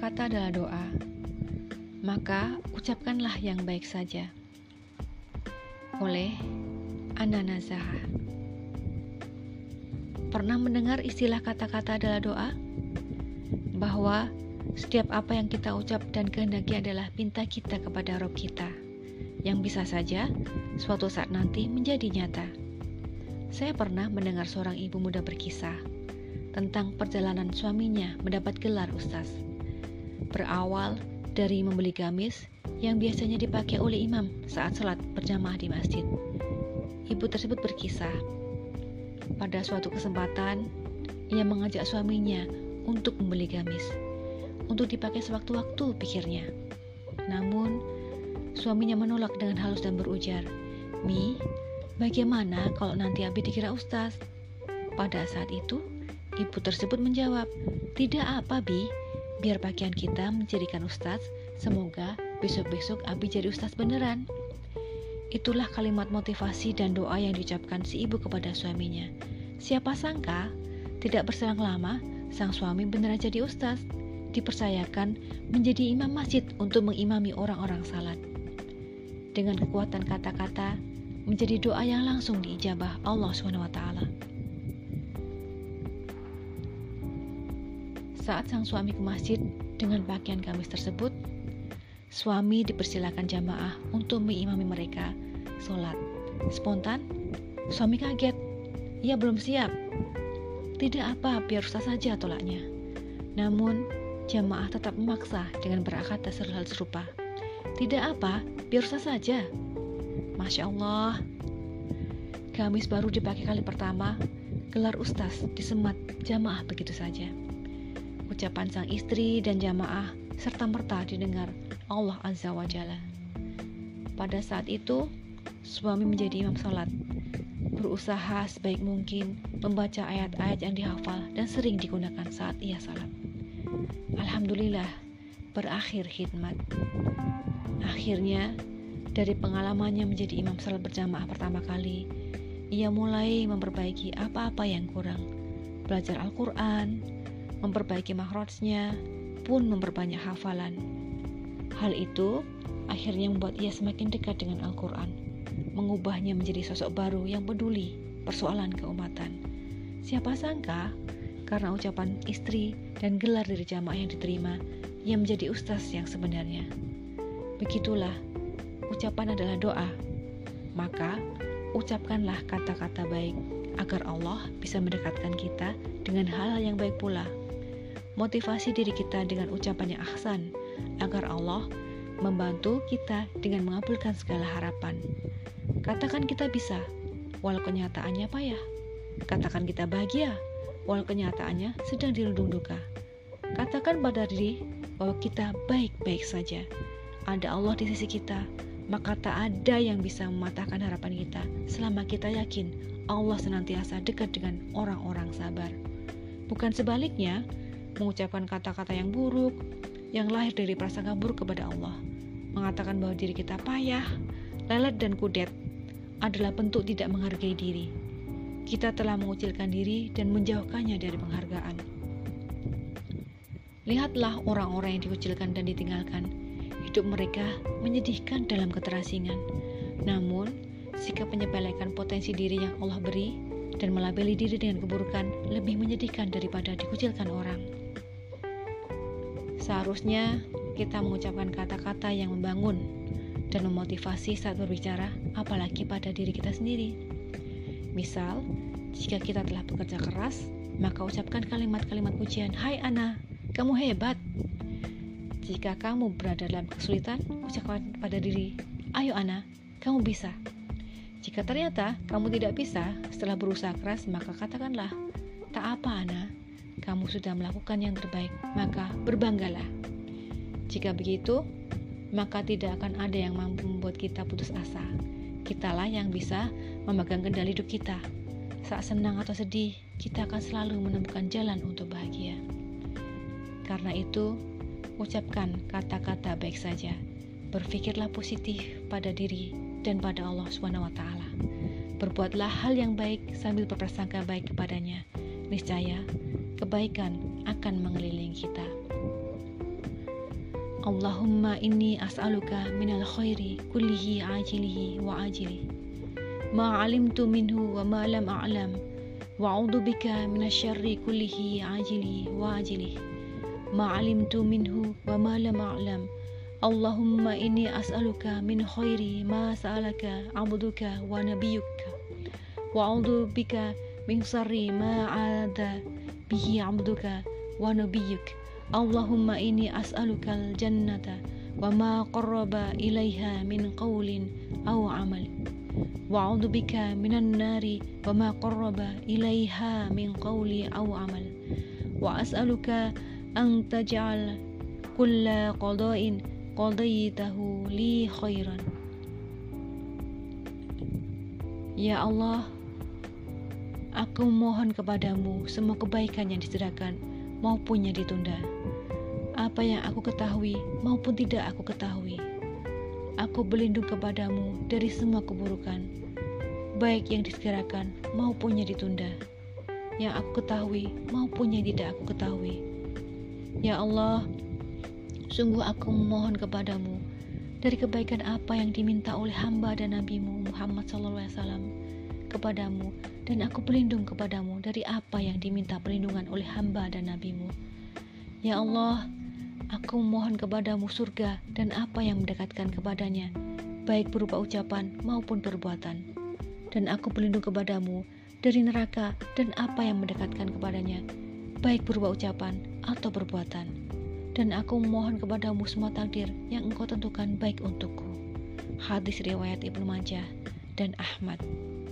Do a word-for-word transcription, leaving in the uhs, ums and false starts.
Kata-kata adalah doa, maka ucapkanlah yang baik saja. Oleh Ana Nazaha. Pernah mendengar istilah kata-kata adalah doa? Bahwa setiap apa yang kita ucap dan kehendaki adalah pinta kita kepada Rob kita, yang bisa saja suatu saat nanti menjadi nyata. Saya pernah mendengar seorang ibu muda berkisah tentang perjalanan suaminya mendapat gelar ustaz. Berawal dari membeli gamis yang biasanya dipakai oleh imam saat sholat berjamaah di masjid. Ibu tersebut berkisah, pada suatu kesempatan ia mengajak suaminya untuk membeli gamis, untuk dipakai sewaktu-waktu, pikirnya. Namun suaminya menolak dengan halus dan berujar, "Mi, bagaimana kalau nanti Abi dikira ustaz?" Pada saat itu ibu tersebut menjawab, "Tidak apa, Bi, biar pakaian kita menjadikan ustaz, semoga besok-besok Abi jadi ustaz beneran." Itulah kalimat motivasi dan doa yang diucapkan si ibu kepada suaminya. Siapa sangka, tidak berselang lama, sang suami beneran jadi ustaz, dipercayakan menjadi imam masjid untuk mengimami orang-orang salat. Dengan kekuatan kata-kata, menjadi doa yang langsung diijabah Allah subhanahu wa taala. Saat sang suami ke masjid dengan pakaian gamis tersebut, suami dipersilakan jamaah untuk mengimami mereka sholat. Spontan, suami kaget. Ia belum siap. Tidak apa, biar ustaz saja, tolaknya. Namun, jamaah tetap memaksa dengan berkata hal serupa. Tidak apa, biar ustaz saja. Masya Allah. Gamis baru dipakai kali pertama, gelar ustaz disemat jamaah begitu saja. Ucapan sang istri dan jamaah serta-merta didengar Allah Azza wa Jalla. Pada saat itu, suami menjadi imam salat, berusaha sebaik mungkin membaca ayat-ayat yang dihafal dan sering digunakan saat ia salat. Alhamdulillah, berakhir khidmat. Akhirnya, dari pengalamannya menjadi imam salat berjamaah pertama kali, ia mulai memperbaiki apa-apa yang kurang. Belajar Al-Quran, memperbaiki makhrajnya, pun memperbanyak hafalan. Hal itu akhirnya membuat ia semakin dekat dengan Al-Quran, mengubahnya menjadi sosok baru yang peduli persoalan keumatan. Siapa sangka, karena ucapan istri dan gelar dari jamaah yang diterima, ia menjadi ustaz yang sebenarnya. Begitulah, ucapan adalah doa. Maka, ucapkanlah kata-kata baik, agar Allah bisa mendekatkan kita dengan hal yang baik pula. Motivasi diri kita dengan ucapan yang ahsan, agar Allah membantu kita dengan mengabulkan segala harapan. Katakan kita bisa, walau kenyataannya payah. Katakan kita bahagia, walau kenyataannya sedang dirundung duka. Katakan pada diri bahwa kita baik-baik saja. Ada Allah di sisi kita, maka tak ada yang bisa mematahkan harapan kita selama kita yakin Allah senantiasa dekat dengan orang-orang sabar. Bukan sebaliknya, mengucapkan kata-kata yang buruk, yang lahir dari prasangka buruk kepada Allah, mengatakan bahwa diri kita payah, lelet dan kudet, adalah bentuk tidak menghargai diri. Kita telah mengucilkan diri dan menjauhkannya dari penghargaan. Lihatlah orang-orang yang dikucilkan dan ditinggalkan. Hidup mereka menyedihkan dalam keterasingan. Namun, sikap menyepelekan potensi diri yang Allah beri dan melabeli diri dengan keburukan lebih menyedihkan daripada dikucilkan orang. Seharusnya kita mengucapkan kata-kata yang membangun dan memotivasi saat berbicara, apalagi pada diri kita sendiri. Misal, jika kita telah bekerja keras, maka ucapkan kalimat-kalimat pujian, "Hai Ana, kamu hebat." Jika kamu berada dalam kesulitan, ucapkan pada diri, "Ayo Ana, kamu bisa." Jika ternyata kamu tidak bisa setelah berusaha keras, maka katakanlah, "Tak apa Ana, kamu sudah melakukan yang terbaik, maka berbanggalah." Jika begitu, maka tidak akan ada yang mampu membuat kita putus asa. Kitalah yang bisa memegang kendali hidup kita. Saat senang atau sedih, kita akan selalu menemukan jalan untuk bahagia. Karena itu, ucapkan kata-kata baik saja. Berpikirlah positif pada diri dan pada Allah subhanahu wa taala. Berbuatlah hal yang baik sambil berprasangka baik kepadanya. Niscaya kebaikan akan mengelilingi kita. Allahumma inni as'aluka minal khairi kullihi ajilihi wa ajilihi ma alimtu minhu wa ma lam a'lam wa a'udzu bika minasyarri kullihi ajilihi wa ajilihi ma alimtu minhu wa ma lam a'lam. Allahumma inni as'aluka min khairi ma sa'alaka 'abduka wa nabiyyuka wa a'udzu bika min syarri ma 'ada bihi 'abduka wa nabiyyuk. Allahumma inni as'alukal jannata wa ma qarraba ilaiha min qawlin aw 'amal wa a'udzu bika minan nari wa ma qarraba ilaiha min qawli aw 'amal wa as'aluka an taj'al kulla qada'in qadaitahu li khairan. Ya Allah, aku mohon kepadamu semua kebaikan yang disediakan maupun yang ditunda, apa yang aku ketahui maupun tidak aku ketahui. Aku berlindung kepadamu dari semua keburukan, baik yang disegerakan maupun yang ditunda, yang aku ketahui maupun yang tidak aku ketahui. Ya Allah, sungguh aku memohon kepadamu dari kebaikan apa yang diminta oleh hamba dan nabimu Muhammad shallallahu alaihi wasallam kepadamu, dan aku berlindung kepadamu dari apa yang diminta perlindungan oleh hamba dan nabimu. Ya Allah, aku memohon kepadamu surga dan apa yang mendekatkan kepadanya, baik berupa ucapan maupun perbuatan. Dan aku berlindung kepadamu dari neraka dan apa yang mendekatkan kepadanya, baik berupa ucapan atau perbuatan. Dan aku memohon kepadamu semua takdir yang engkau tentukan baik untukku. Hadis riwayat Ibnu Majah dan Ahmad.